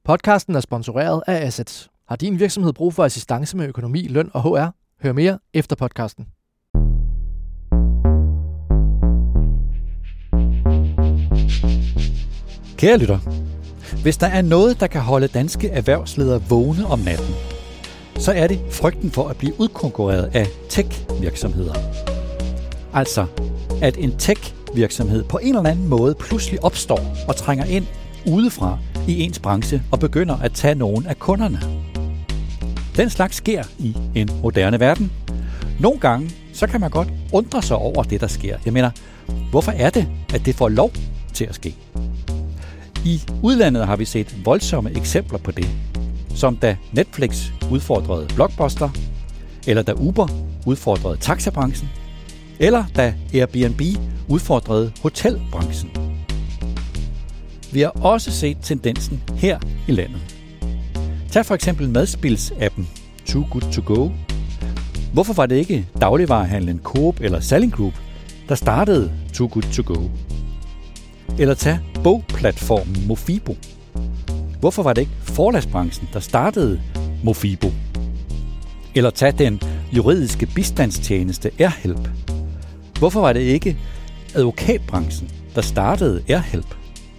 Podcasten er sponsoreret af Assets. Har din virksomhed brug for assistance med økonomi, løn og HR? Hør mere efter podcasten. Kære lytter, hvis der er noget, der kan holde danske erhvervsledere vågne om natten, så er det frygten for at blive udkonkurreret af tech-virksomheder. Altså, at en tech-virksomhed på en eller anden måde pludselig opstår og trænger ind udefra i ens branche og begynder at tage nogle af kunderne. Den slags sker i en moderne verden. Nogle gange, så kan man godt undre sig over det, der sker. Jeg mener, hvorfor er det, at det får lov til at ske? I udlandet har vi set voldsomme eksempler på det, som da Netflix udfordrede Blockbuster, eller da Uber udfordrede taxabranchen, eller da Airbnb udfordrede hotelbranchen. Vi har også set tendensen her i landet. Tag for eksempel madspilsappen Too Good To Go. Hvorfor var det ikke dagligvarehandlen Coop eller Salling Group, der startede Too Good To Go? Eller tag bogplatformen Mofibo. Hvorfor var det ikke forlagsbranchen, der startede Mofibo? Eller tag den juridiske bistandstjeneste AirHelp. Hvorfor var det ikke advokatbranchen, der startede AirHelp?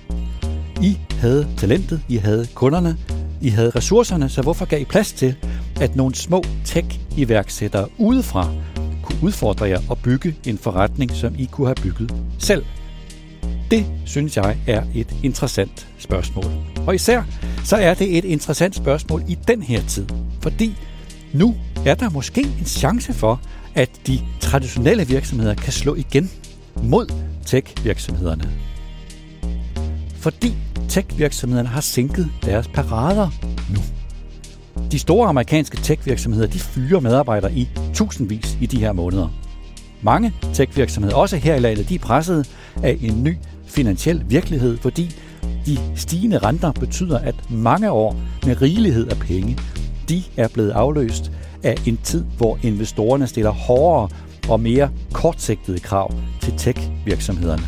I havde talentet, I havde kunderne, I havde ressourcerne, så hvorfor gav I plads til, at nogle små tech-iværksættere udefra kunne udfordre jer og bygge en forretning, som I kunne have bygget selv? Det synes jeg er et interessant spørgsmål. Og især så er det et interessant spørgsmål i den her tid, fordi nu er der måske en chance for, at de traditionelle virksomheder kan slå igen mod tech-virksomhederne. Fordi tech-virksomhederne har sænket deres parader nu. De store amerikanske tech-virksomheder, de fyrer medarbejdere i tusindvis i de her måneder. Mange tech-virksomheder, også her i landet, de er presset af en ny finansiel virkelighed, fordi de stigende renter betyder, at mange år med rigelighed af penge, de er blevet afløst af en tid, hvor investorerne stiller hårdere og mere kortsigtede krav til tech-virksomhederne.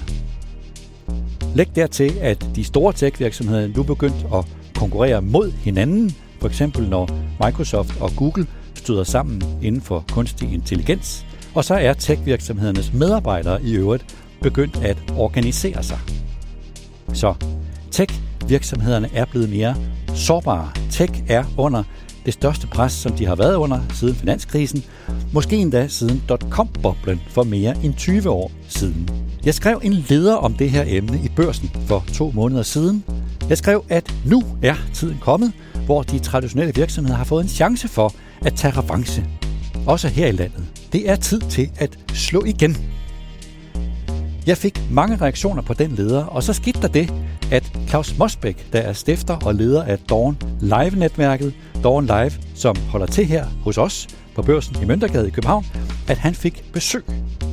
Læg dertil, at de store tech-virksomheder nu begyndt at konkurrere mod hinanden, for eksempel når Microsoft og Google støder sammen inden for kunstig intelligens, og så er tech-virksomhedernes medarbejdere i øvrigt begyndt at organisere sig. Så tech-virksomhederne er blevet mere sårbare. Tech er under det største pres, som de har været under siden finanskrisen, måske endda siden dot-com-boblen for mere end 20 år siden. Jeg skrev en leder om det her emne i Børsen for 2 måneder siden. Jeg skrev, at nu er tiden kommet, hvor de traditionelle virksomheder har fået en chance for at tage revanche. Også her i landet. Det er tid til at slå igen. Jeg fik mange reaktioner på den leder, og så skete der det, at Claus Mosbæk, der er stifter og leder af Dawn Live-netværket, Dawn Live, som holder til her hos os på Børsen i Møntergade i København, at han fik besøg.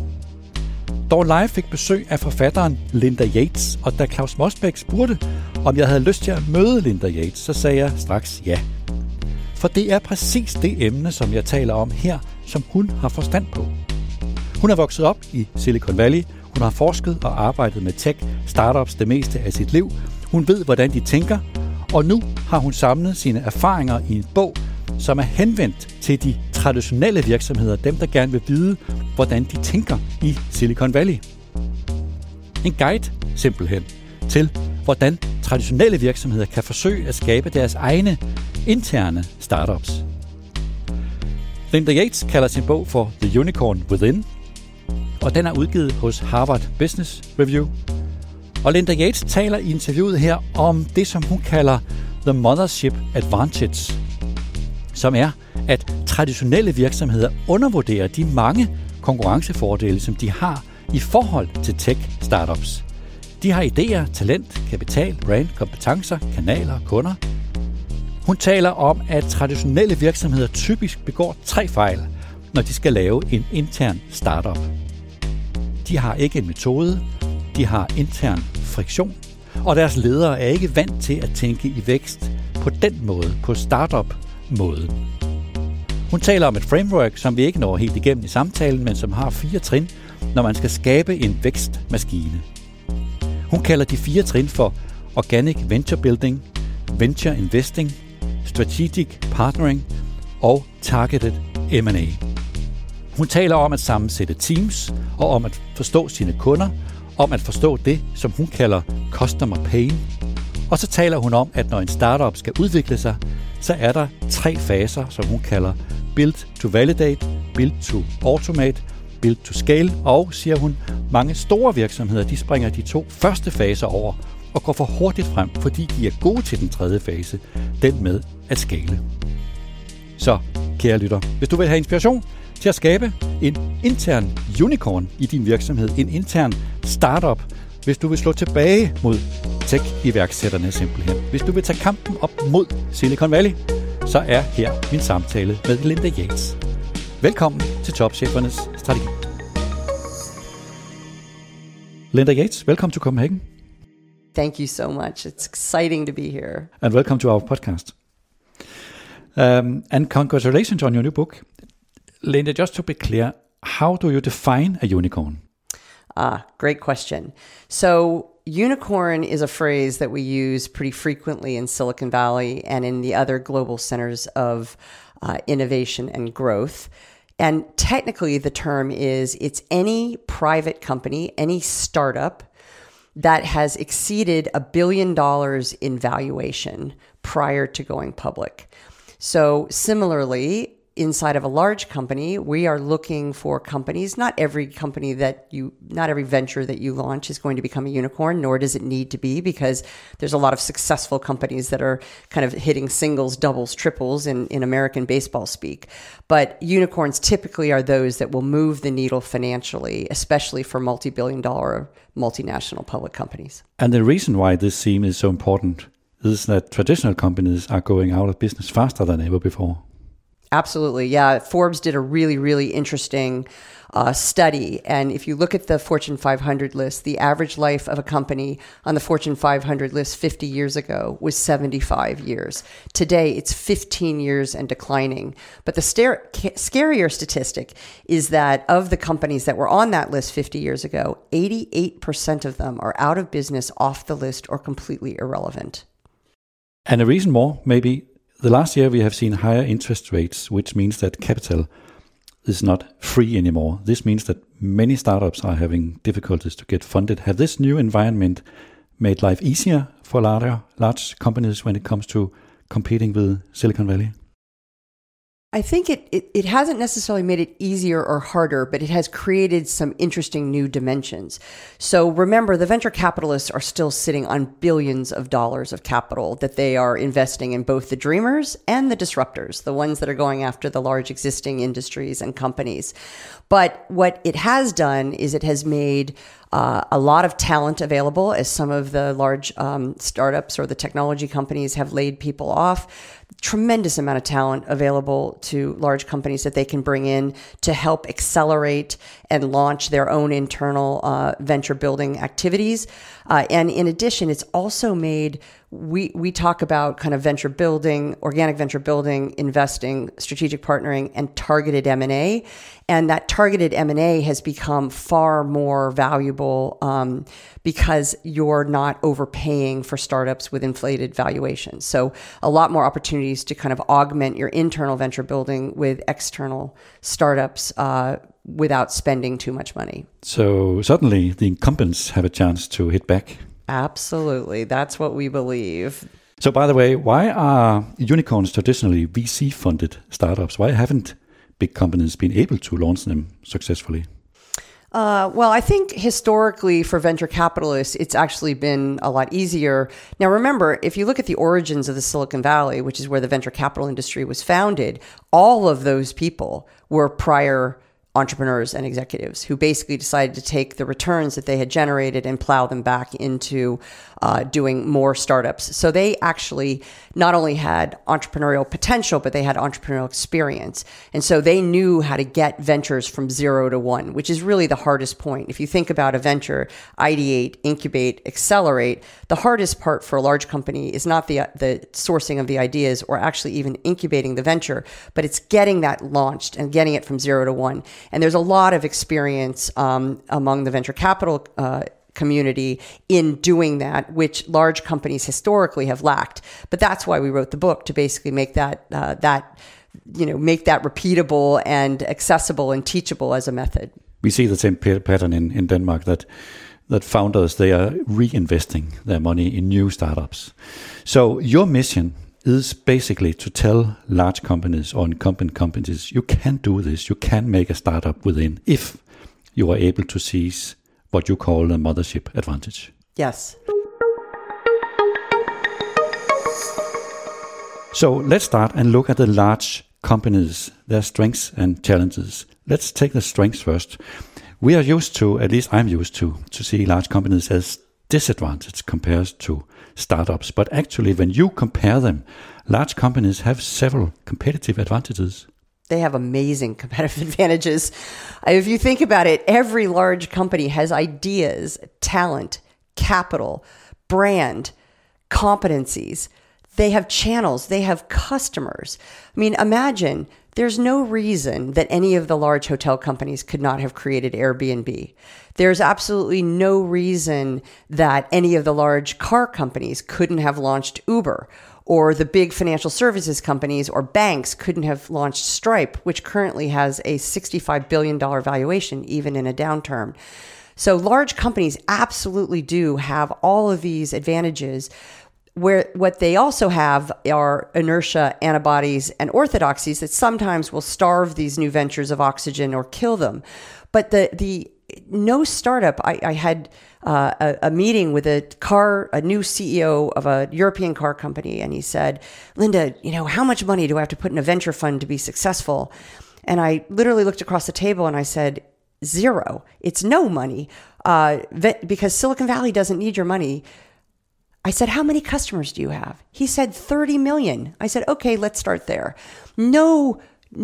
Dawn Live fik besøg af forfatteren Linda Yates, og da Claus Mosbæk spurgte, om jeg havde lyst til at møde Linda Yates, så sagde jeg straks ja. For det er præcis det emne, som jeg taler om her, som hun har forstand på. Hun er vokset op i Silicon Valley. Hun har forsket og arbejdet med tech-startups det meste af sit liv. Hun ved, hvordan de tænker, og nu har hun samlet sine erfaringer i en bog, som er henvendt til de traditionelle virksomheder, dem der gerne vil vide, hvordan de tænker i Silicon Valley. En guide, simpelthen, til hvordan traditionelle virksomheder kan forsøge at skabe deres egne interne startups. Linda Yates kalder sin bog for The Unicorn Within, og den er udgivet hos Harvard Business Review. Og Linda Yates taler i interviewet her om det, som hun kalder The Mothership Advantage, som er, at traditionelle virksomheder undervurderer de mange konkurrencefordele, som de har i forhold til tech-startups. De har idéer, talent, kapital, brand, kompetencer, kanaler, kunder. Hun taler om, at traditionelle virksomheder typisk begår 3 fejl, når de skal lave en intern startup. De har ikke en metode, de har intern friktion, og deres ledere er ikke vant til at tænke i vækst på den måde, på startup-måden. Hun taler om et framework, som vi ikke når helt igennem i samtalen, men som har 4 trin, når man skal skabe en vækstmaskine. Hun kalder de 4 trin for Organic Venture Building, venture investing, strategic partnering og targeted M&A. Hun taler om at sammensætte teams og om at forstå sine kunder, om at forstå det, som hun kalder customer pain. Og så taler hun om, at når en startup skal udvikle sig, så er der 3 faser, som hun kalder build to validate, build to automate, build to scale, og, siger hun, mange store virksomheder, de springer de 2 første faser over og går for hurtigt frem, fordi de er gode til den 3. fase, den med at scale. Så, kære lytter, hvis du vil have inspiration til at skabe en intern unicorn i din virksomhed, en intern startup, hvis du vil slå tilbage mod tech-iværksætterne simpelthen, hvis du vil tage kampen op mod Silicon Valley, så er her min samtale med Linda Yates. Velkommen til Topchefernes Strategi. Linda Yates, welcome to Copenhagen. Thank you so much. It's exciting to be here. And welcome to our podcast. And congratulations on your new book. Linda, just to be clear, how do you define a unicorn? Great question. So unicorn is a phrase that we use pretty frequently in Silicon Valley and in the other global centers of innovation and growth. And technically the term is, it's any private company, any startup that has exceeded $1 billion in valuation prior to going public. So similarly, inside of a large company, we are looking for companies. Not every venture that you launch is going to become a unicorn, nor does it need to be, because there's a lot of successful companies that are kind of hitting singles, doubles, triples in American baseball speak. But unicorns typically are those that will move the needle financially, especially for multi-billion-dollar multinational public companies. And the reason why this theme is so important is that traditional companies are going out of business faster than ever before. Absolutely. Yeah. Forbes did a really, really interesting study. And if you look at the Fortune 500 list, the average life of a company on the Fortune 500 list 50 years ago was 75 years. Today, it's 15 years and declining. But the scarier statistic is that of the companies that were on that list 50 years ago, 88% of them are out of business, off the list, or completely irrelevant. And a reason more, maybe. The last year we have seen higher interest rates, which means that capital is not free anymore. This means that many startups are having difficulties to get funded. Have this new environment made life easier for large companies when it comes to competing with Silicon Valley? I think it hasn't necessarily made it easier or harder, but it has created some interesting new dimensions. So remember, the venture capitalists are still sitting on billions of dollars of capital that they are investing in both the dreamers and the disruptors, the ones that are going after the large existing industries and companies. But what it has done is it has made a lot of talent available, as some of the large startups or the technology companies have laid people off. Tremendous amount of talent available to large companies that they can bring in to help accelerate and launch their own internal venture building activities. And in addition, it's also made, we talk about kind of venture building, organic venture building, investing, strategic partnering, and targeted M&A. And that targeted M&A has become far more valuable because you're not overpaying for startups with inflated valuations. So a lot more opportunities to kind of augment your internal venture building with external startups without spending too much money. So suddenly the incumbents have a chance to hit back. Absolutely. That's what we believe. So by the way, why are unicorns traditionally VC-funded startups? Why haven't big companies been able to launch them successfully? Well, I think historically for venture capitalists, it's actually been a lot easier. Now, remember, if you look at the origins of the Silicon Valley, which is where the venture capital industry was founded, all of those people were prior entrepreneurs and executives who basically decided to take the returns that they had generated and plow them back into doing more startups. So they actually not only had entrepreneurial potential, but they had entrepreneurial experience. And so they knew how to get ventures from 0 to 1, which is really the hardest point. If you think about a venture, ideate, incubate, accelerate, the hardest part for a large company is not the sourcing of the ideas or actually even incubating the venture, but it's getting that launched and getting it from 0 to 1. And there's a lot of experience among the venture capital community in doing that, which large companies historically have lacked. But that's why we wrote the book, to basically make that make that repeatable and accessible and teachable as a method. We see the same pattern in Denmark, that founders, they are reinvesting their money in new startups. So your mission is basically to tell large companies or incumbent companies, you can do this, you can make a startup within, if you are able to seize what you call the mothership advantage. Yes. So let's start and look at the large companies, their strengths and challenges. Let's take the strengths first. We are used to, at least I'm used to see large companies as disadvantaged compared to startups. But actually, when you compare them, large companies have several competitive advantages. They have amazing competitive advantages. If you think about it, every large company has ideas, talent, capital, brand, competencies. They have channels, they have customers. I mean, imagine there's no reason that any of the large hotel companies could not have created Airbnb. There's absolutely no reason that any of the large car companies couldn't have launched Uber, or the big financial services companies or banks couldn't have launched Stripe, which currently has a $65 billion valuation, even in a downturn. So large companies absolutely do have all of these advantages, where what they also have are inertia, antibodies, and orthodoxies that sometimes will starve these new ventures of oxygen or kill them. But the no startup, I had a meeting with a new CEO of a European car company, and he said, Linda, how much money do I have to put in a venture fund to be successful? And I literally looked across the table and I said, zero. It's no money, because Silicon Valley doesn't need your money. I said, how many customers do you have? He said 30 million. I said, okay, let's start there. No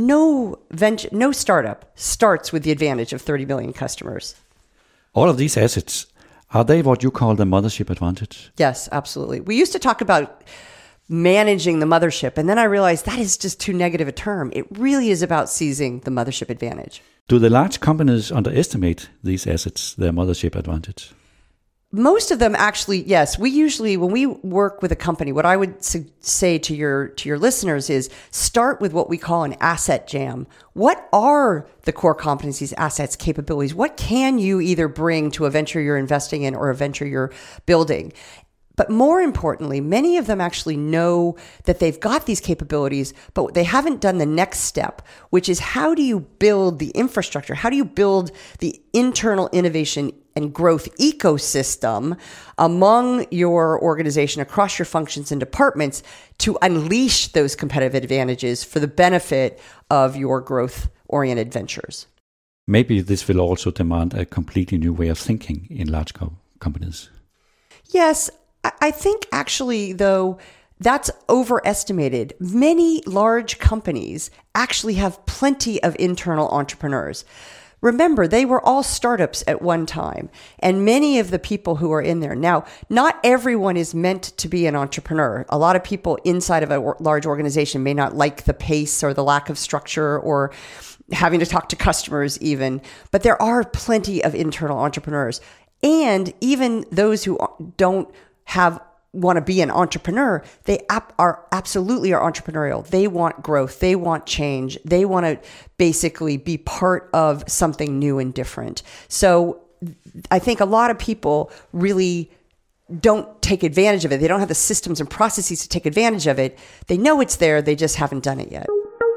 startup starts with the advantage of 30 million customers. All of these assets, are they what you call the mothership advantage? Yes, absolutely. We used to talk about managing the mothership, and then I realized that is just too negative a term. It really is about seizing the mothership advantage. Do the large companies underestimate these assets, their mothership advantage? Most of them actually, yes. We usually, when we work with a company, what I would say to your listeners is start with what we call an asset jam. What are the core competencies, assets, capabilities? What can you either bring to a venture you're investing in or a venture you're building? But more importantly, many of them actually know that they've got these capabilities, but they haven't done the next step, which is how do you build the infrastructure? How do you build the internal innovation and growth ecosystem among your organization, across your functions and departments, to unleash those competitive advantages for the benefit of your growth-oriented ventures? Maybe this will also demand a completely new way of thinking in large companies. Yes, I think actually, though, that's overestimated. Many large companies actually have plenty of internal entrepreneurs. Remember, they were all startups at one time, and many of the people who are in there. Now, not everyone is meant to be an entrepreneur. A lot of people inside of a large organization may not like the pace or the lack of structure or having to talk to customers even, but there are plenty of internal entrepreneurs. And even those who don't want to be an entrepreneur, they are absolutely entrepreneurial. They want growth. They want change. They want to basically be part of something new and different. So I think a lot of people really don't take advantage of it. They don't have the systems and processes to take advantage of it. They know it's there. They just haven't done it yet.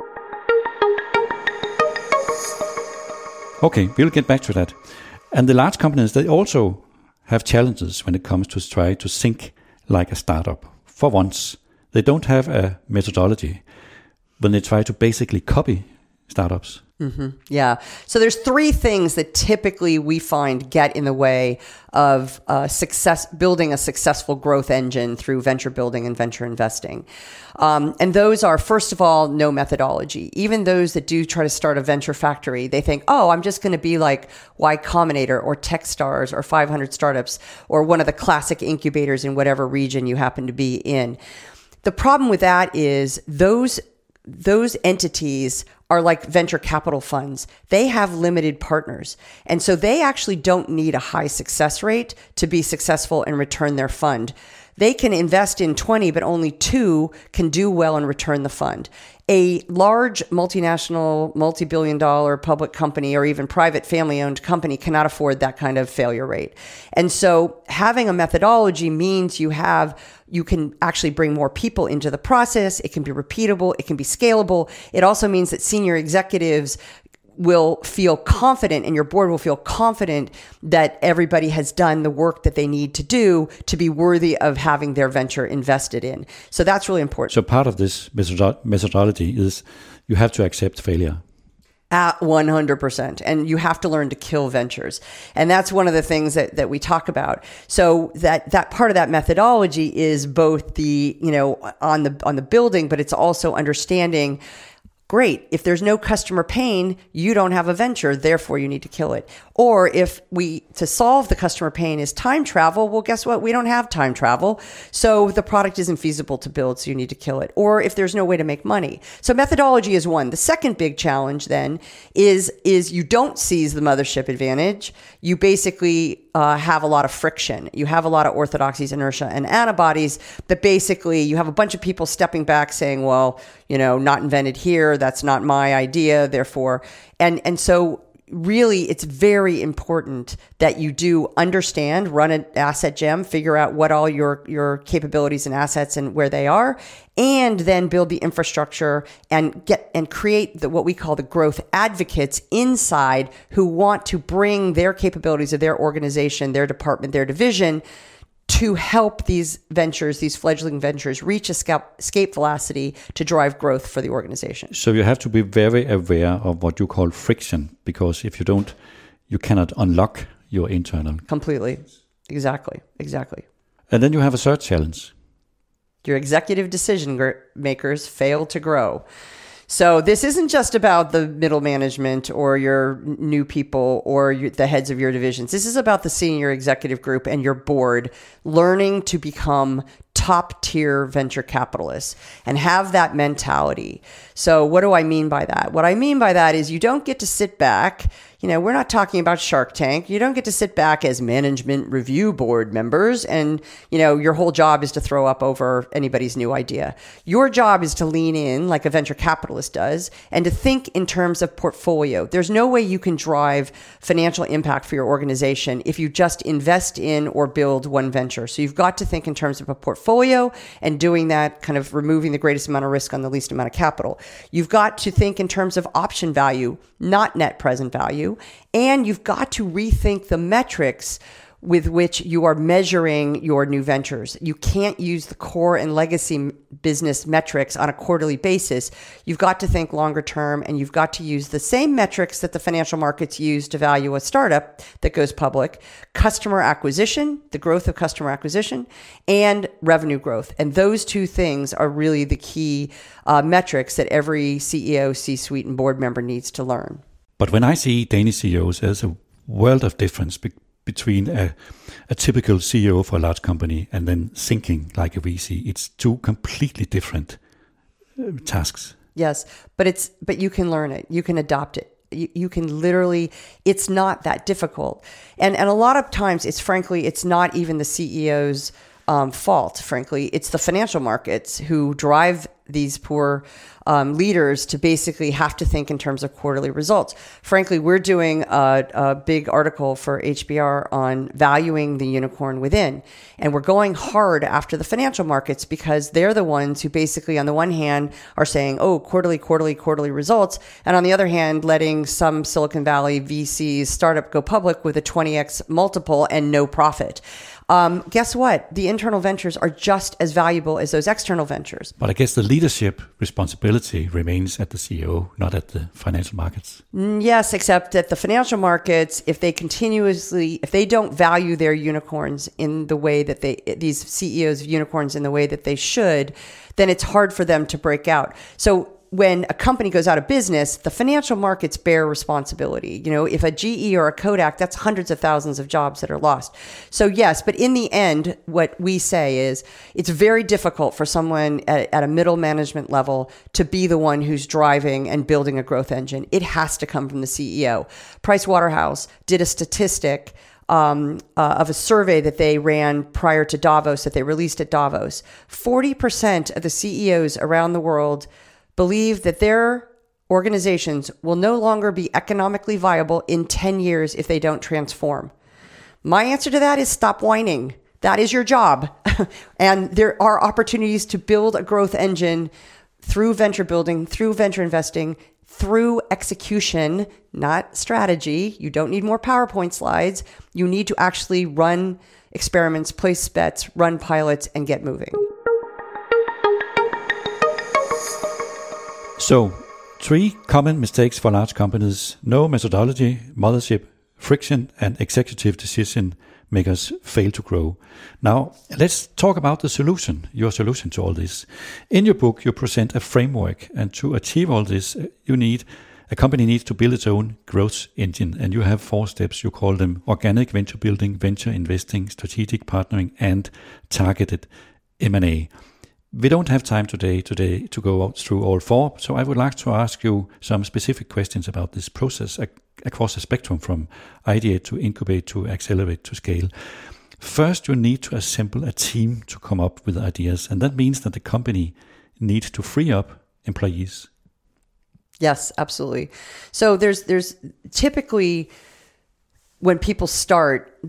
Okay, we'll get back to that. And the large companies, they also have challenges when it comes to try to think like a startup. For once, they don't have a methodology when they try to basically copy startups. Mm-hmm. Yeah. So there's three things that typically we find get in the way of building a successful growth engine through venture building and venture investing. And those are, first of all, no methodology. Even those that do try to start a venture factory, they think, oh, I'm just going to be like Y Combinator or Techstars or 500 Startups or one of the classic incubators in whatever region you happen to be in. The problem with that is those those entities are like venture capital funds. They have limited partners. And so they actually don't need a high success rate to be successful and return their fund. They can invest in 20, but only 2 can do well and return the fund. A large multinational, multi-billion dollar public company or even private family-owned company cannot afford that kind of failure rate. And so having a methodology means you can actually bring more people into the process. It can be repeatable. It can be scalable. It also means that senior executives will feel confident and your board will feel confident that everybody has done the work that they need to do to be worthy of having their venture invested in. So that's really important. So part of this methodology is you have to accept failure. At 100%. And you have to learn to kill ventures. And that's one of the things that we talk about. So that part of that methodology is both the, on the building, but it's also understanding, great, if there's no customer pain, you don't have a venture, therefore you need to kill it. Or if to solve the customer pain is time travel, well, guess what? We don't have time travel. So the product isn't feasible to build, so you need to kill it. Or if there's no way to make money. So methodology is one. The second big challenge then is you don't seize the mothership advantage. You basically have a lot of friction. You have a lot of orthodoxies, inertia, and antibodies that basically you have a bunch of people stepping back saying, well, not invented here. That's not my idea. Therefore, and so really it's very important that you do understand, run an asset gem, figure out what all your capabilities and assets and where they are, and then build the infrastructure and create what we call the growth advocates inside who want to bring their capabilities of their organization, their department, their division to help these ventures, these fledgling ventures, reach escape velocity to drive growth for the organization. So you have to be very aware of what you call friction, because if you don't, you cannot unlock your internal. Completely. Exactly. And then you have a third challenge. Your executive decision makers fail to grow. So this isn't just about the middle management or your new people or the heads of your divisions. This is about the senior executive group and your board learning to become top tier venture capitalists and have that mentality. So what do I mean by that? What I mean by that is you don't get to sit back. We're not talking about Shark Tank. You don't get to sit back as management review board members and, your whole job is to throw up over anybody's new idea. Your job is to lean in like a venture capitalist does and to think in terms of portfolio. There's no way you can drive financial impact for your organization if you just invest in or build one venture. So you've got to think in terms of a portfolio and doing that, kind of removing the greatest amount of risk on the least amount of capital. You've got to think in terms of option value, not net present value. And you've got to rethink the metrics with which you are measuring your new ventures. You can't use the core and legacy business metrics on a quarterly basis. You've got to think longer term, and you've got to use the same metrics that the financial markets use to value a startup that goes public: customer acquisition, the growth of customer acquisition, and revenue growth. And those two things are really the key metrics that every CEO, C-suite, and board member needs to learn. But when I see Danish CEOs, there's a world of difference between a typical CEO for a large company and then thinking like a VC. It's two completely different tasks. Yes, but you can learn it. You can adopt it. You can literally, it's not that difficult. And a lot of times it's not even the CEO's fault, frankly. It's the financial markets who drive these poor leaders to basically have to think in terms of quarterly results. Frankly, we're doing a big article for HBR on valuing the unicorn within. And we're going hard after the financial markets because they're the ones who basically, on the one hand, are saying, oh, quarterly results. And on the other hand, letting some Silicon Valley VCs startup go public with a 20x multiple and no profit. Guess what? The internal ventures are just as valuable as those external ventures. But I guess the leadership responsibility remains at the CEO, not at the financial markets. Yes, except that the financial markets, if they don't value their unicorns in the way that these CEOs of unicorns in the way that they should, then it's hard for them to break out. So when a company goes out of business, the financial markets bear responsibility. If a GE or a Kodak, that's hundreds of thousands of jobs that are lost. So yes, but in the end, what we say is it's very difficult for someone at a middle management level to be the one who's driving and building a growth engine. It has to come from the CEO. Price Waterhouse did a statistic of a survey that they ran prior to Davos, that they released at Davos. 40% of the CEOs around the world believe that their organizations will no longer be economically viable in 10 years if they don't transform. My answer to that is stop whining. That is your job. And there are opportunities to build a growth engine through venture building, through venture investing, through execution, not strategy. You don't need more PowerPoint slides. You need to actually run experiments, place bets, run pilots, and get moving. So, 3 common mistakes for large companies: no methodology, mothership, friction, and executive decision makers fail to grow. Now, let's talk about the solution, your solution to all this. In your book, you present a framework, and to achieve all this, a company needs to build its own growth engine, and you have 4 steps. You call them organic venture building, venture investing, strategic partnering, and targeted M&A. We don't have time today to go through all 4, so I would like to ask you some specific questions about this process across the spectrum, from ideate to incubate to accelerate to scale. First, you need to assemble a team to come up with ideas, and that means that the company needs to free up employees. Yes, absolutely. So there's typically, when people start,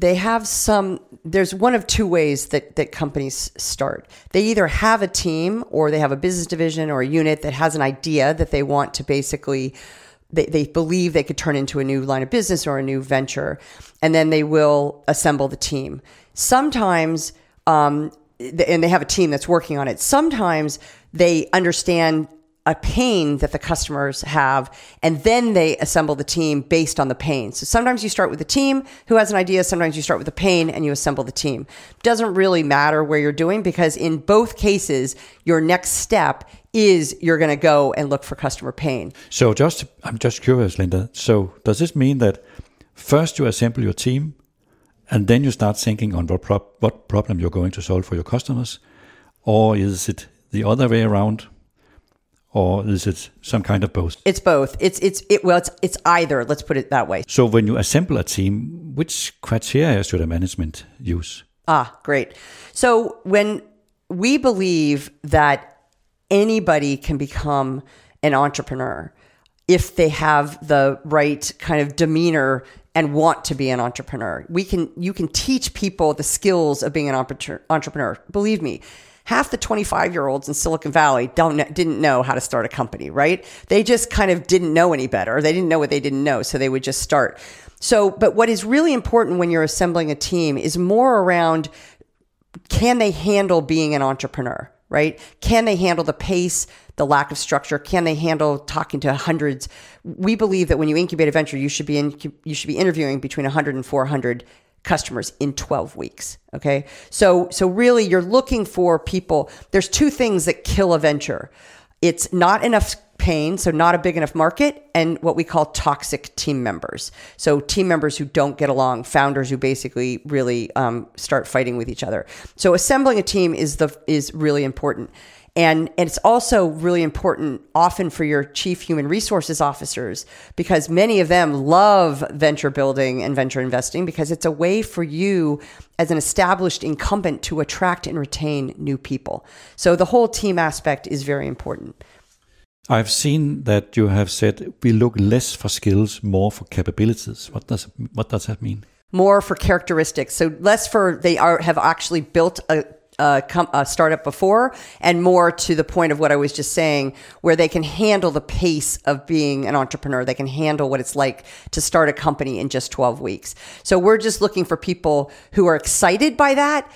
there's one of 2 ways that companies start. They either have a team, or they have a business division or a unit that has an idea that they want to basically, they believe they could turn into a new line of business or a new venture, and then they will assemble the team. Sometimes, and they have a team that's working on it. Sometimes they understand a pain that the customers have, and then they assemble the team based on the pain. So sometimes you start with a team who has an idea, sometimes you start with a pain and you assemble the team. Doesn't really matter where you're doing, because in both cases, your next step is you're going to go and look for customer pain. So I'm just curious, Linda. So does this mean that first you assemble your team, and then you start thinking on what problem you're going to solve for your customers? Or is it the other way around? Or is it some kind of both? It's both. It's either. Let's put it that way. So when you assemble a team, which criteria should a management use? Great. So when we believe that anybody can become an entrepreneur if they have the right kind of demeanor and want to be an entrepreneur, you can teach people the skills of being an entrepreneur. Believe me. Half the 25-year-olds in Silicon Valley didn't know how to start a company, right? They just kind of didn't know any better. They didn't know what they didn't know, so they would just start. So, but what is really important when you're assembling a team is more around, can they handle being an entrepreneur, right? Can they handle the pace, the lack of structure? Can they handle talking to hundreds? We believe that when you incubate a venture, you should be interviewing between 100 and 400 customers in 12 weeks. Okay. So really you're looking for people. There's 2 things that kill a venture. It's not enough pain, so not a big enough market, and what we call toxic team members. So team members who don't get along, founders who basically really start fighting with each other. So assembling a team is really important. And it's also really important often for your chief human resources officers, because many of them love venture building and venture investing, because it's a way for you as an established incumbent to attract and retain new people. So the whole team aspect is very important. I've seen that you have said we look less for skills, more for capabilities. What does that mean? More for characteristics. So less for have actually built a startup before, and more to the point of what I was just saying, where they can handle the pace of being an entrepreneur. They can handle what it's like to start a company in just 12 weeks. So we're just looking for people who are excited by that,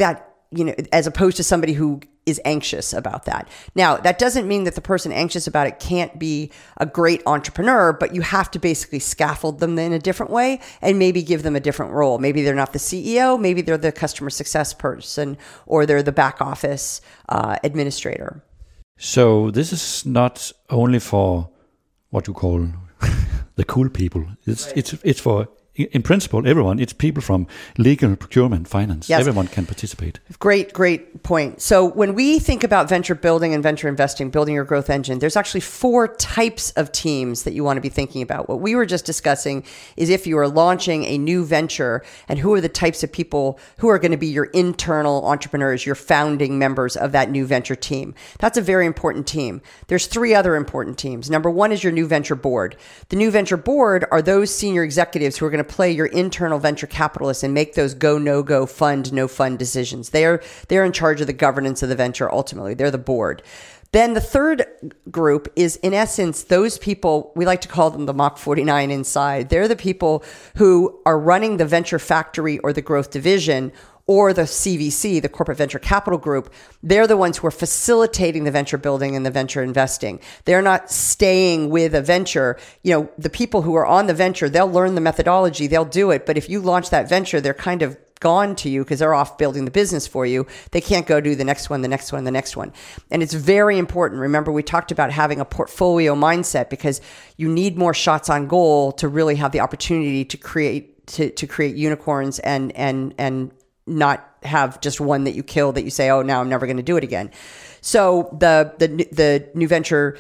as opposed to somebody who is anxious about that. Now, that doesn't mean that the person anxious about it can't be a great entrepreneur, but you have to basically scaffold them in a different way and maybe give them a different role. Maybe they're not the CEO, maybe they're the customer success person, or they're the back office administrator. So this is not only for what you call the cool people. It's for, in principle, everyone. It's people from legal, procurement, finance. Yes. Everyone can participate. Great point. So when we think about venture building and venture investing, building your growth engine, there's actually 4 types of teams that you want to be thinking about. What we were just discussing is if you are launching a new venture, and who are the types of people who are going to be your internal entrepreneurs, your founding members of that new venture team. That's a very important team. There's 3 other important teams. Number 1 is your new venture board. The new venture board are those senior executives who are going to play your internal venture capitalists and make those go, no go, fund, no fund decisions. They're in charge of the governance of the venture ultimately. They're the board. Then the third group is, in essence, those people, we like to call them the Mach 49 inside. They're the people who are running the venture factory or the growth division, or the CVC, the Corporate Venture Capital Group. They're the ones who are facilitating the venture building and the venture investing. They're not staying with a venture. The people who are on the venture, they'll learn the methodology, they'll do it. But if you launch that venture, they're kind of gone to you because they're off building the business for you. They can't go do the next one, the next one, the next one. And it's very important. Remember, we talked about having a portfolio mindset because you need more shots on goal to really have the opportunity to create unicorns and not have just one that you kill that you say, oh, now I'm never going to do it again. So the new venture,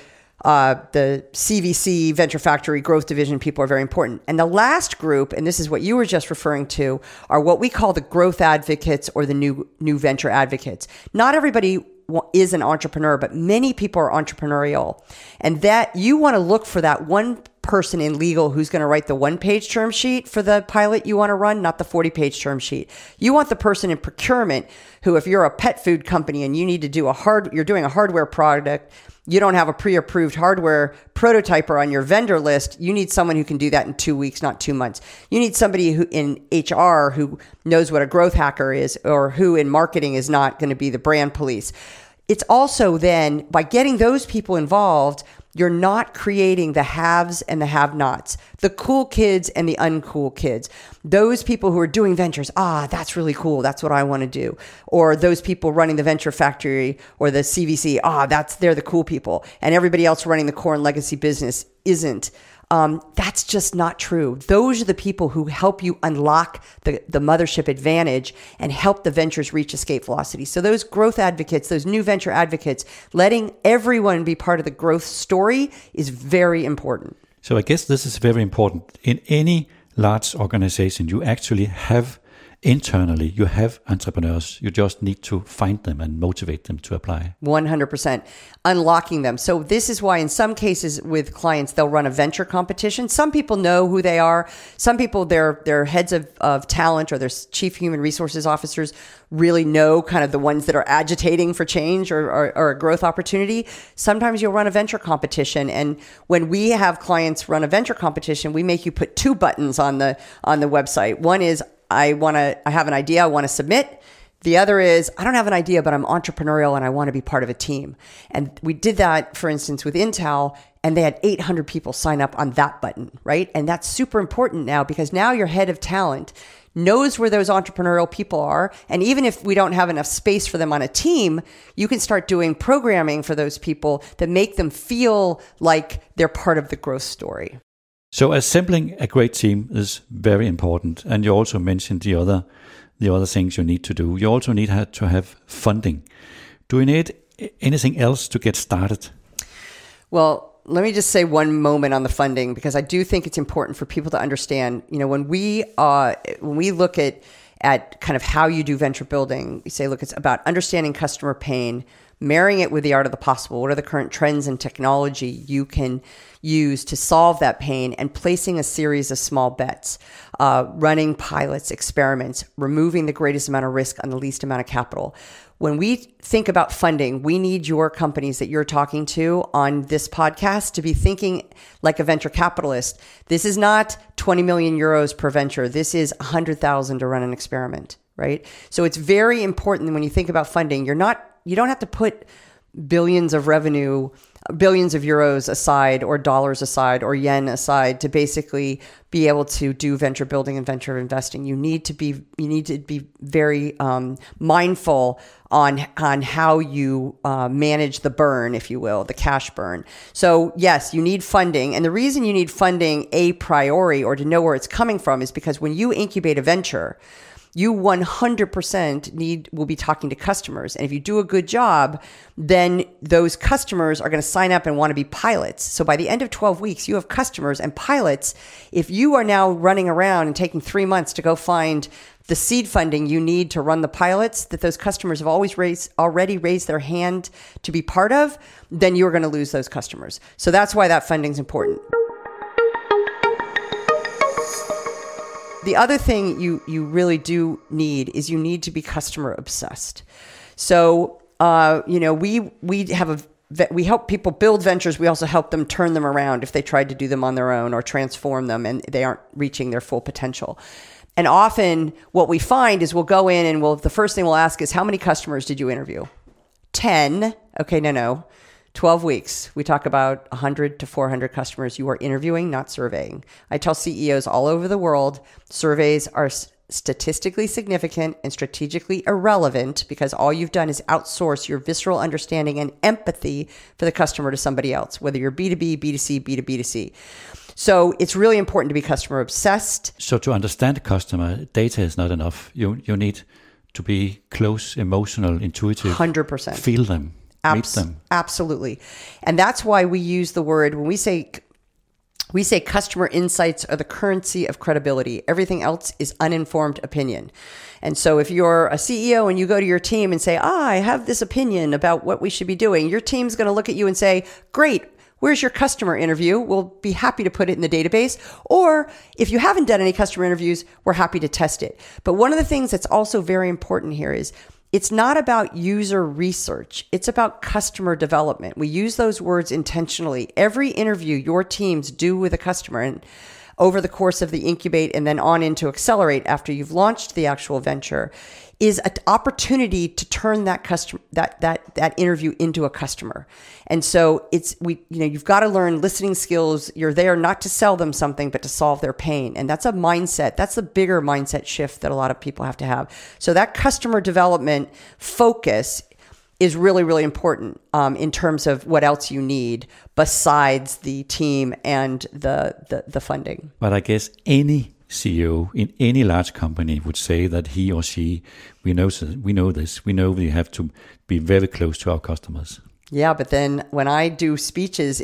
the CVC, Venture Factory, Growth Division people are very important. And the last group, and this is what you were just referring to, are what we call the growth advocates or the new venture advocates. Not everybody is an entrepreneur, but many people are entrepreneurial. And that you want to look for that one person in legal who's going to write the 1-page term sheet for the pilot you want to run, not the 40-page term sheet. You want the person in procurement who, if you're a pet food company and you need to do you're doing a hardware product, you don't have a pre-approved hardware prototyper on your vendor list. You need someone who can do that in 2 weeks, not 2 months. You need somebody who in HR who knows what a growth hacker is, or who in marketing is not going to be the brand police. It's also then, by getting those people involved, you're not creating the haves and the have-nots, the cool kids and the uncool kids. Those people who are doing ventures, that's really cool. That's what I want to do. Or those people running the venture factory or the CVC, they're the cool people. And everybody else running the core and legacy business isn't. That's just not true. Those are the people who help you unlock the mothership advantage and help the ventures reach escape velocity. So those growth advocates, those new venture advocates, letting everyone be part of the growth story is very important. So I guess this is very important. In any large organization, you actually have internally, you have entrepreneurs. You just need to find them and motivate them to apply. 100%. Unlocking them. So this is why in some cases with clients, they'll run a venture competition. Some people know who they are. Some people, their heads of talent or their chief human resources officers really know kind of the ones that are agitating for change or a growth opportunity. Sometimes you'll run a venture competition. And when we have clients run a venture competition, we make you put 2 buttons on the website. One is, I have an idea I want to submit. The other is, I don't have an idea, but I'm entrepreneurial and I want to be part of a team. And we did that, for instance, with Intel, and they had 800 people sign up on that button, right? And that's super important now because now your head of talent knows where those entrepreneurial people are. And even if we don't have enough space for them on a team, you can start doing programming for those people that make them feel like they're part of the growth story. So assembling a great team is very important. And you also mentioned the other things you need to do. You also need to have funding. Do you need anything else to get started? Well, let me just say one moment on the funding, because I do think it's important for people to understand, when we look at kind of how you do venture building, we say, look, it's about understanding customer pain, marrying it with the art of the possible. What are the current trends and technology you can use to solve that pain, and placing a series of small bets, running pilots, experiments, removing the greatest amount of risk on the least amount of capital. When we think about funding, we need your companies that you're talking to on this podcast to be thinking like a venture capitalist. This is not 20 million euros per venture. This is 100,000 to run an experiment, right? So it's very important when you think about funding. You don't have to put billions of revenue billions of euros aside or dollars aside or yen aside to basically be able to do venture building and venture investing. You need to be very mindful on how you manage the burn, if you will, the cash burn. So yes, you need funding. And the reason you need funding a priori or to know where it's coming from is because when you incubate a venture, you 100% will be talking to customers. And if you do a good job, then those customers are going to sign up and want to be pilots. So by the end of 12 weeks, you have customers and pilots. If you are now running around and taking 3 months to go find the seed funding you need to run the pilots that those customers have already raised their hand to be part of, then you're going to lose those customers. So that's why that funding is important. The other thing you really do need is you need to be customer obsessed. So, we help people build ventures. We also help them turn them around if they tried to do them on their own or transform them and they aren't reaching their full potential. And often what we find is we'll go in and the first thing we'll ask is, how many customers did you interview? 10. Okay, no. 12 weeks. We talk about 100 to 400 customers you are interviewing, not surveying. I tell CEOs all over the world, surveys are statistically significant and strategically irrelevant because all you've done is outsource your visceral understanding and empathy for the customer to somebody else, whether you're B2B, B2C, B2B2C. So it's really important to be customer obsessed. So to understand the customer, data is not enough. You need to be close, emotional, intuitive. 100%. Feel them. Meet them. Absolutely. And that's why we use the word, when we say customer insights are the currency of credibility. Everything else is uninformed opinion. And so if you're a CEO and you go to your team and say, I have this opinion about what we should be doing, your team's going to look at you and say, great, where's your customer interview? We'll be happy to put it in the database. Or if you haven't done any customer interviews, we're happy to test it. But one of the things that's also very important here is it's not about user research. It's about customer development. We use those words intentionally. Every interview your teams do with a customer and over the course of the incubate and then on into accelerate after you've launched the actual venture is an opportunity to turn that customer, that interview into a customer. And so you've got to learn listening skills. You're there not to sell them something, but to solve their pain. And that's a mindset. That's a bigger mindset shift that a lot of people have to have. So that customer development focus is really, really important in terms of what else you need besides the team and the funding. But I guess any CEO in any large company would say that he or she, we know this, we know we have to be very close to our customers. Yeah, but then when I do speeches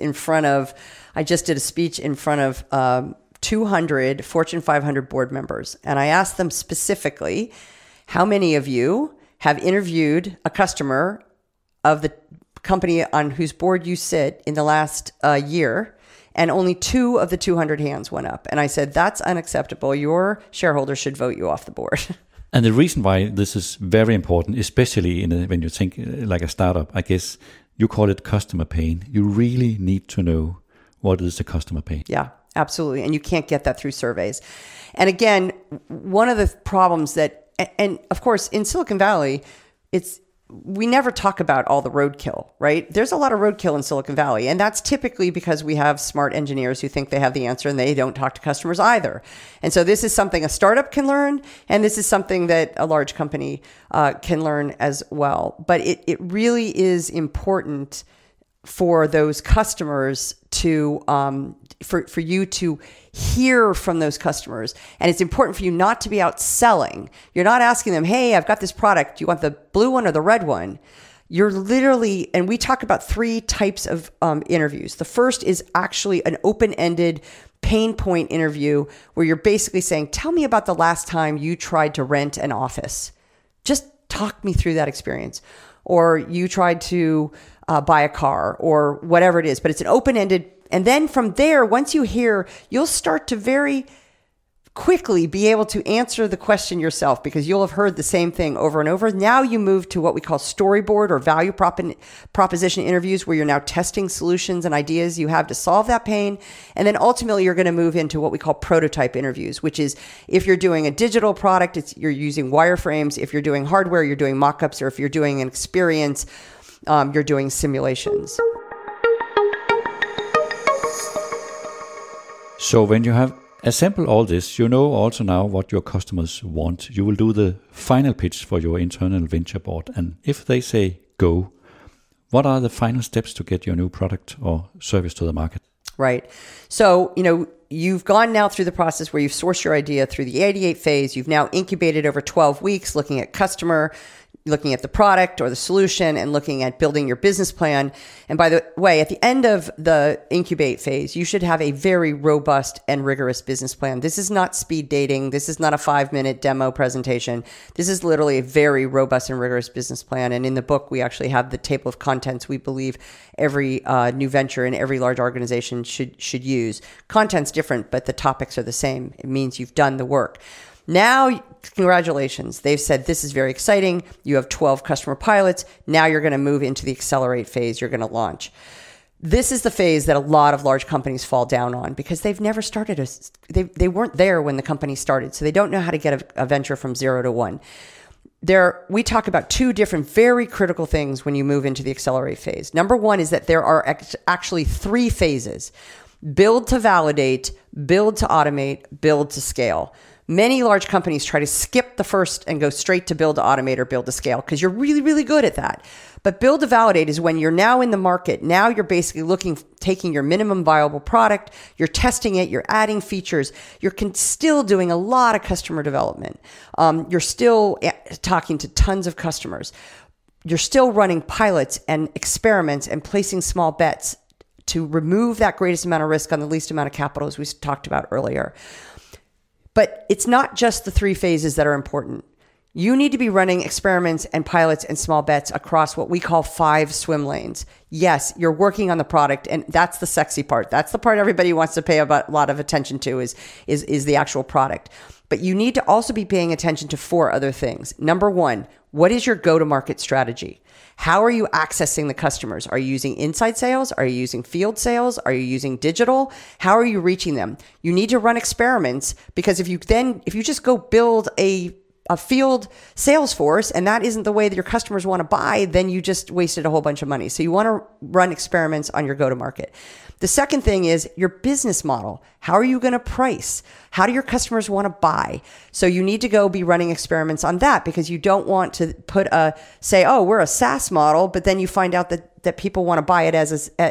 I just did a speech in front of 200 Fortune 500 board members, and I asked them specifically, how many of you have interviewed a customer of the company on whose board you sit in the last year? And only 2 of the 200 hands went up. And I said, that's unacceptable. Your shareholders should vote you off the board. And the reason why this is very important, especially when you think like a startup, I guess you call it customer pain. You really need to know what is the customer pain. Yeah, absolutely. And you can't get that through surveys. And again, one of the problems and of course, in Silicon Valley, we never talk about all the roadkill, right? There's a lot of roadkill in Silicon Valley, and that's typically because we have smart engineers who think they have the answer and they don't talk to customers either. And so this is something a startup can learn, and this is something that a large company can learn as well. But it really is important for those customers to for you to hear from those customers. And it's important for you not to be out selling. You're not asking them, hey, I've got this product. Do you want the blue one or the red one? You're literally, and we talk about 3 types of interviews. The first is actually an open-ended pain point interview where you're basically saying, tell me about the last time you tried to rent an office. Just talk me through that experience. Or you tried to buy a car or whatever it is, but it's an open-ended. And then from there, once you hear, you'll start to very quickly be able to answer the question yourself because you'll have heard the same thing over and over. Now you move to what we call storyboard or value proposition interviews where you're now testing solutions and ideas you have to solve that pain. And then ultimately you're going to move into what we call prototype interviews, which is if you're doing a digital product, you're using wireframes. If you're doing hardware, you're doing mock-ups, or if you're doing an experience, you're doing simulations. So when you have assembled all this, you know also now what your customers want. You will do the final pitch for your internal venture board. And if they say go, what are the final steps to get your new product or service to the market? Right. So, you've gone now through the process where you've sourced your idea through the ideate phase. You've now incubated over 12 weeks, looking at customer, looking at the product or the solution, and looking at building your business plan. And by the way, at the end of the incubate phase, you should have a very robust and rigorous business plan. This is not speed dating. This is not a 5-minute demo presentation. This is literally a very robust and rigorous business plan. And in the book, we actually have the table of contents we believe every new venture and every large organization should use. Content's different, but the topics are the same. It means you've done the work. Now, congratulations. They've said this is very exciting. You have 12 customer pilots. Now you're going to move into the accelerate phase. You're going to launch. This is the phase that a lot of large companies fall down on because they've never started. They weren't there when the company started, so they don't know how to get a venture from 0 to 1. We talk about 2 different very critical things when you move into the accelerate phase. Number 1 is that there are actually 3 phases: build to validate, build to automate, build to scale. Many large companies try to skip the first and go straight to build to automate or build to scale because you're really, really good at that. But build to validate is when you're now in the market. Now you're basically taking your minimum viable product, you're testing it, you're adding features, you're still doing a lot of customer development. You're still talking to tons of customers. You're still running pilots and experiments and placing small bets to remove that greatest amount of risk on the least amount of capital, as we talked about earlier. But it's not just the 3 phases that are important. You need to be running experiments and pilots and small bets across what we call 5 swim lanes. Yes, you're working on the product, and that's the sexy part. That's the part everybody wants to pay a lot of attention to is the actual product. But you need to also be paying attention to 4 other things. Number 1, what is your go-to-market strategy? How are you accessing the customers? Are you using inside sales? Are you using field sales? Are you using digital? How are you reaching them? You need to run experiments because if you just go build a field sales force and that isn't the way that your customers want to buy, then you just wasted a whole bunch of money. So you want to run experiments on your go-to-market. The second thing is your business model. How are you going to price? How do your customers want to buy? So you need to go be running experiments on that because you don't want to say, oh, we're a SaaS model, but then you find out that people want to buy it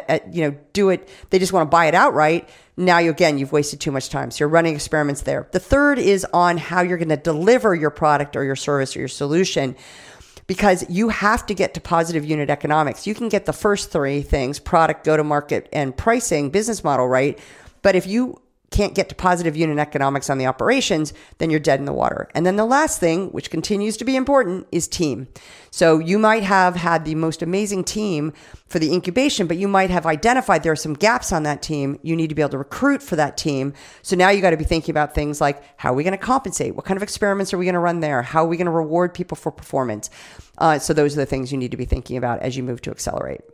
they just want to buy it outright. Now, you've wasted too much time. So you're running experiments there. The third is on how you're going to deliver your product or your service or your solution, because you have to get to positive unit economics. You can get the first 3 things, product, go-to-market, and pricing, business model, right? But if you can't get to positive unit economics on the operations, then you're dead in the water. And then the last thing, which continues to be important, is team. So you might have had the most amazing team for the incubation, but you might have identified there are some gaps on that team. You need to be able to recruit for that team. So now you got to be thinking about things like, how are we going to compensate? What kind of experiments are we going to run there? How are we going to reward people for performance? So those are the things you need to be thinking about as you move to accelerate.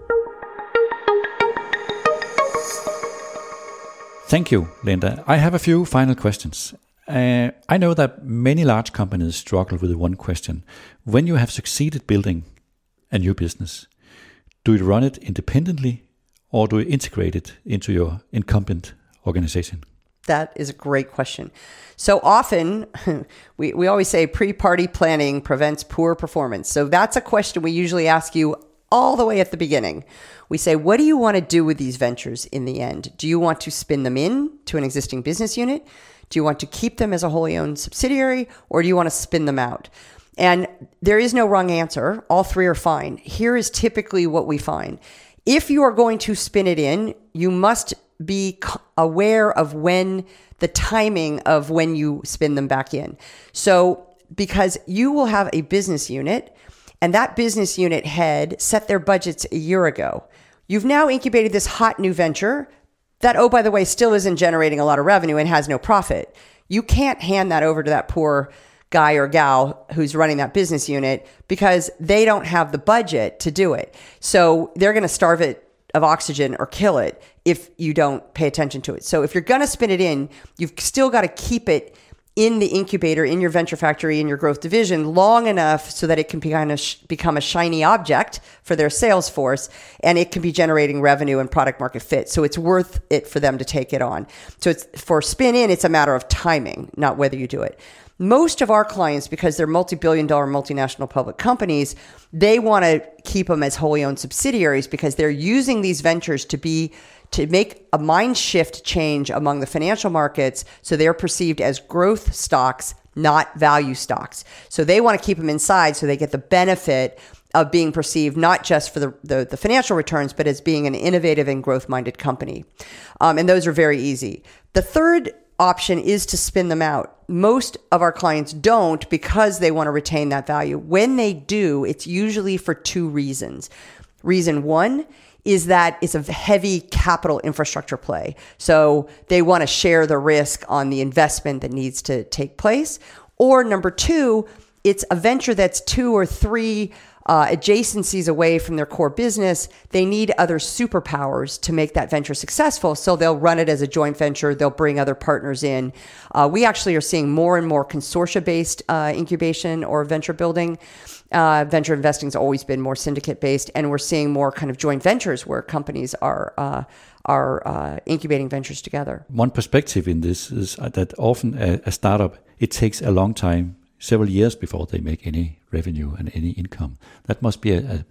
Thank you, Linda. I have a few final questions. I know that many large companies struggle with one question. When you have succeeded building a new business, do you run it independently or do you integrate it into your incumbent organization? That is a great question. So often, we always say pre-party planning prevents poor performance. So that's a question we usually ask you all the way at the beginning. We say, what do you want to do with these ventures in the end? Do you want to spin them in to an existing business unit? Do you want to keep them as a wholly owned subsidiary, or do you want to spin them out? And there is no wrong answer. All 3 are fine. Here is typically what we find. If you are going to spin it in, you must be aware of the timing of when you spin them back in. So because you will have a business unit, and that business unit head set their budgets a year ago. You've now incubated this hot new venture that, oh, by the way, still isn't generating a lot of revenue and has no profit. You can't hand that over to that poor guy or gal who's running that business unit because they don't have the budget to do it. So they're going to starve it of oxygen or kill it if you don't pay attention to it. So if you're going to spin it in, you've still got to keep it in the incubator, in your venture factory, in your growth division long enough so that it can become a shiny object for their sales force, and it can be generating revenue and product market fit. So it's worth it for them to take it on. So it's for spin in, it's a matter of timing, not whether you do it. Most of our clients, because they're multi-billion-dollar multinational public companies, they want to keep them as wholly owned subsidiaries because they're using these ventures to make a mind shift change among the financial markets, so they're perceived as growth stocks, not value stocks. So they want to keep them inside so they get the benefit of being perceived not just for the financial returns, but as being an innovative and growth-minded company. And those are very easy. The third option is to spin them out. Most of our clients don't because they want to retain that value. When they do, it's usually for two reasons. Reason one is that it's a heavy capital infrastructure play. So they want to share the risk on the investment that needs to take place. Or number two, it's a venture that's 2 or 3 adjacencies away from their core business. They need other superpowers to make that venture successful. So they'll run it as a joint venture. They'll bring other partners in. We actually are seeing more and more consortia-based incubation or venture building. Venture investing has always been more syndicate-based, and we're seeing more kind of joint ventures where companies are incubating ventures together. One perspective in this is that often a startup, it takes a long time, several years before they make any revenue and any income. That must be a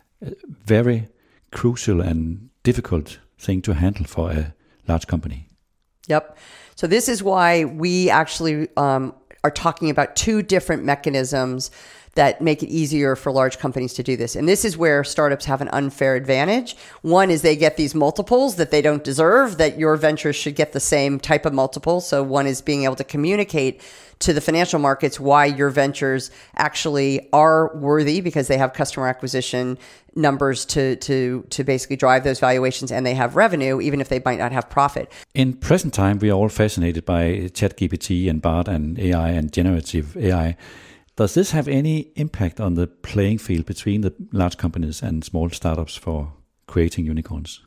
very crucial and difficult thing to handle for a large company. Yep. So this is why we actually are talking about 2 different mechanisms that make it easier for large companies to do this. And this is where startups have an unfair advantage. One is they get these multiples that they don't deserve, that your ventures should get the same type of multiple. So one is being able to communicate to the financial markets why your ventures actually are worthy because they have customer acquisition numbers to basically drive those valuations, and they have revenue even if they might not have profit. In present time, we are all fascinated by ChatGPT and Bard and AI and generative AI. Does this have any impact on the playing field between the large companies and small startups for creating unicorns?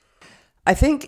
I think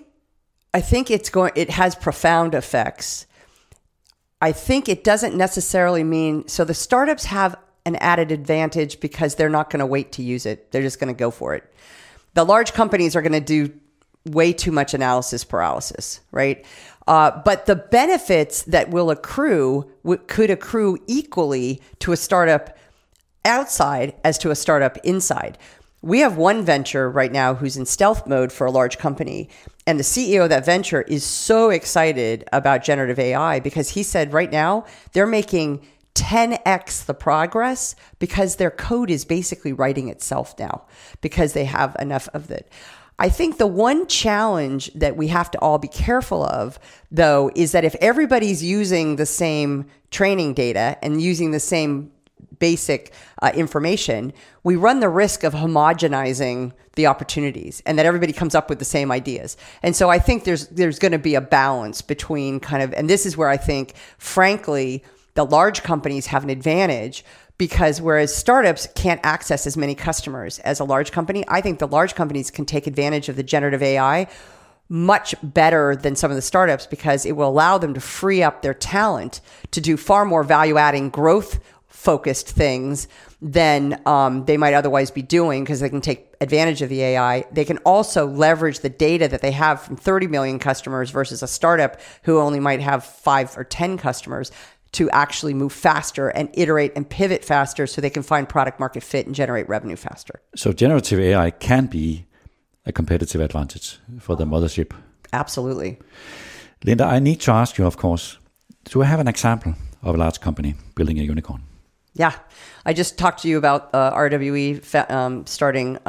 it has profound effects. I think it doesn't necessarily mean, so the startups have an added advantage because they're not going to wait to use it. They're just going to go for it. The large companies are going to do way too much analysis paralysis, right? But the benefits that will accrue could accrue equally to a startup outside as to a startup inside. We have one venture right now who's in stealth mode for a large company, and the CEO of that venture is so excited about generative AI because he said right now they're making 10x the progress because their code is basically writing itself now because they have enough of it. I think the one challenge that we have to all be careful of, though, is that if everybody's using the same training data and using the same basic information, we run the risk of homogenizing the opportunities and that everybody comes up with the same ideas. And so I think there's going to be a balance between kind of, and this is where I think, frankly, the large companies have an advantage because whereas startups can't access as many customers as a large company, I think the large companies can take advantage of the generative AI much better than some of the startups because it will allow them to free up their talent to do far more value-adding, growth-focused things than they might otherwise be doing because they can take advantage of the AI. They can also leverage the data that they have from 30 million customers versus a startup who only might have 5 or 10 customers to actually move faster and iterate and pivot faster so they can find product market fit and generate revenue faster. So generative AI can be a competitive advantage for the mothership. Absolutely. Linda, I need to ask you, of course, do I have an example of a large company building a unicorn? Yeah. I just talked to you about RWE starting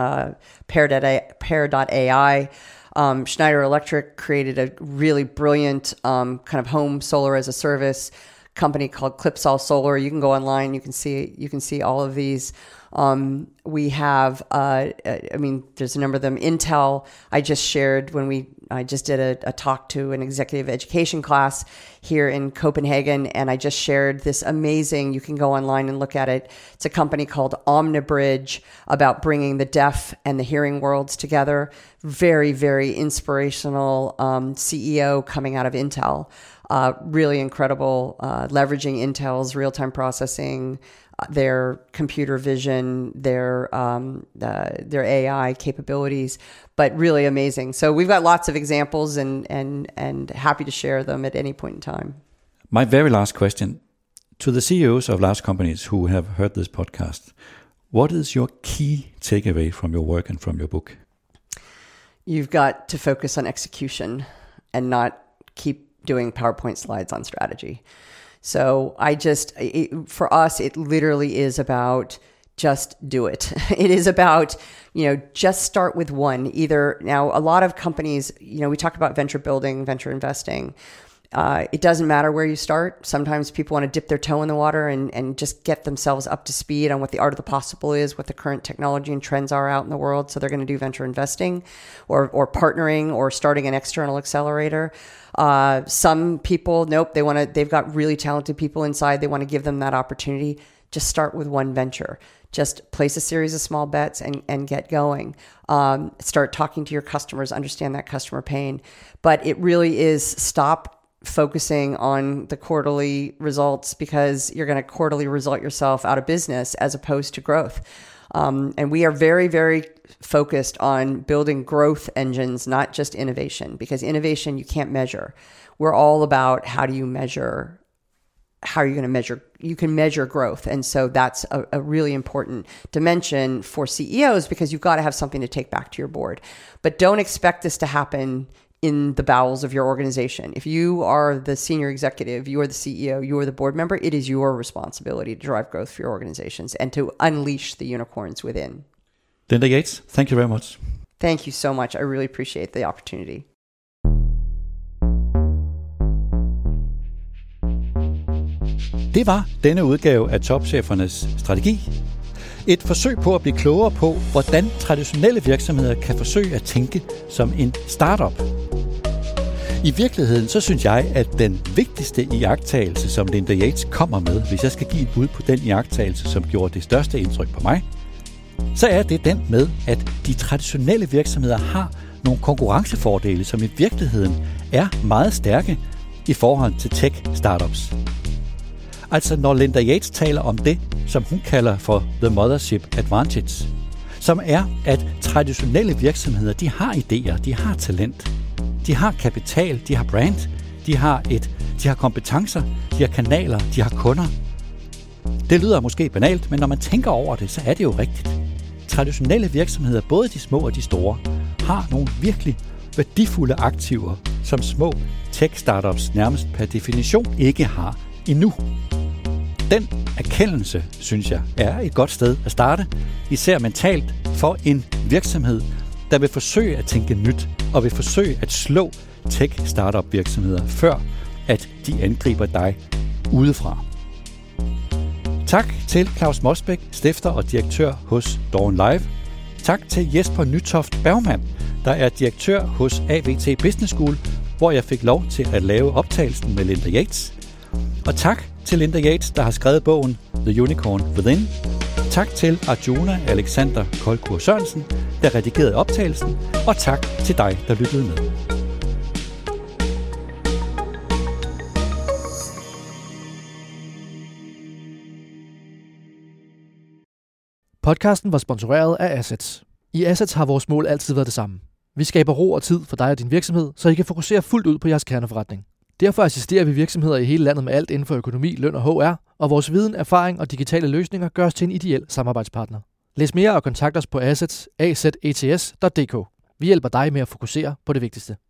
Pair.ai. Schneider Electric created a really brilliant kind of home solar as a service company called Clipsal Solar. You can go online. You can see all of these. We have, there's a number of them. Intel, I just shared I just did a talk to an executive education class here in Copenhagen, and I just shared this amazing, you can go online and look at it. It's a company called Omnibridge about bringing the deaf and the hearing worlds together. Very, very inspirational CEO coming out of Intel. Really incredible, leveraging Intel's real-time processing, their computer vision, their AI capabilities, but really amazing. So we've got lots of examples and happy to share them at any point in time. My very last question to the CEOs of large companies who have heard this podcast. What is your key takeaway from your work and from your book? You've got to focus on execution and not keep doing PowerPoint slides on strategy. So for us, it literally is about just do it. It is about, just start with one. Now, a lot of companies, we talk about venture building, venture investing. It doesn't matter where you start. Sometimes people want to dip their toe in the water and just get themselves up to speed on what the art of the possible is, what the current technology and trends are out in the world. So they're going to do venture investing or partnering or starting an external accelerator. Some people, nope, they've got really talented people inside. They want to give them that opportunity. Just start with one venture. Just place a series of small bets and get going. Start talking to your customers, understand that customer pain. But it really is stop focusing on the quarterly results, because you're going to quarterly result yourself out of business as opposed to growth. And we are very, very focused on building growth engines, not just innovation, because innovation you can't measure. We're all about how are you going to measure? You can measure growth. And so that's a really important dimension for CEOs, because you've got to have something to take back to your board. But don't expect this to happen in the bowels of your organization. If you are the senior executive, you are the CEO, you are the board member, it is your responsibility to drive growth for your organizations and to unleash the unicorns within. Linda Yates, thank you very much. Thank you so much. I really appreciate the opportunity. Det var denne udgave af Topchefernes Strategi. Et forsøg på at blive klogere på, hvordan traditionelle virksomheder kan forsøge at tænke som en startup. I virkeligheden så synes jeg, at den vigtigste iagttagelse, som Linda Yates kommer med, hvis jeg skal give et bud på den iagttagelse, som gjorde det største indtryk på mig, så er det den med, at de traditionelle virksomheder har nogle konkurrencefordele, som i virkeligheden er meget stærke i forhold til tech-startups. Altså når Linda Yates taler om det, som hun kalder for The Mothership Advantage, som er, at traditionelle virksomheder, de har idéer, de har talent, de har kapital, de har brand, de har kompetencer, de har kanaler, de har kunder. Det lyder måske banalt, men når man tænker over det, så er det jo rigtigt. Traditionelle virksomheder, både de små og de store, har nogle virkelig værdifulde aktiver, som små tech-startups nærmest per definition ikke har endnu. Den erkendelse, synes jeg, er et godt sted at starte, især mentalt for en virksomhed, der vil forsøge at tænke nyt og vil forsøge at slå tech-startup virksomheder, før at de angriber dig udefra. Tak til Claus Mosbæk, stifter og direktør hos Dawn Live. Tak til Jesper Nytoft Bergmann, der er direktør hos AVT Business School, hvor jeg fik lov til at lave optagelsen med Linda Yates. Og tak til Linda Yates, der har skrevet bogen The Unicorn Within. Tak til Arjuna Alexander Kolkur Sørensen, der redigerede optagelsen. Og tak til dig, der lyttede med. Podcasten var sponsoreret af Assets. I Assets har vores mål altid været det samme. Vi skaber ro og tid for dig og din virksomhed, så I kan fokusere fuldt ud på jeres kerneforretning. Derfor assisterer vi virksomheder i hele landet med alt inden for økonomi, løn og HR, og vores viden, erfaring og digitale løsninger gør os til en ideel samarbejdspartner. Læs mere og kontakt os på assets.dk. Vi hjælper dig med at fokusere på det vigtigste.